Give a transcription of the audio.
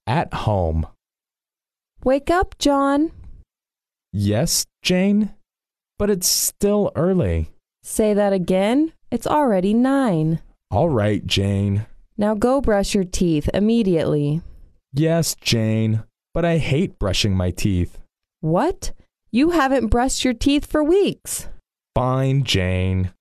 At home. Wake up, John. Yes, Jane? But it's still early. Say that again. It's already 9. All right, Jane. Now go brush your teeth immediately. Yes, Jane. But I hate brushing my teeth. What? You haven't brushed your teeth for weeks. Fine, Jane.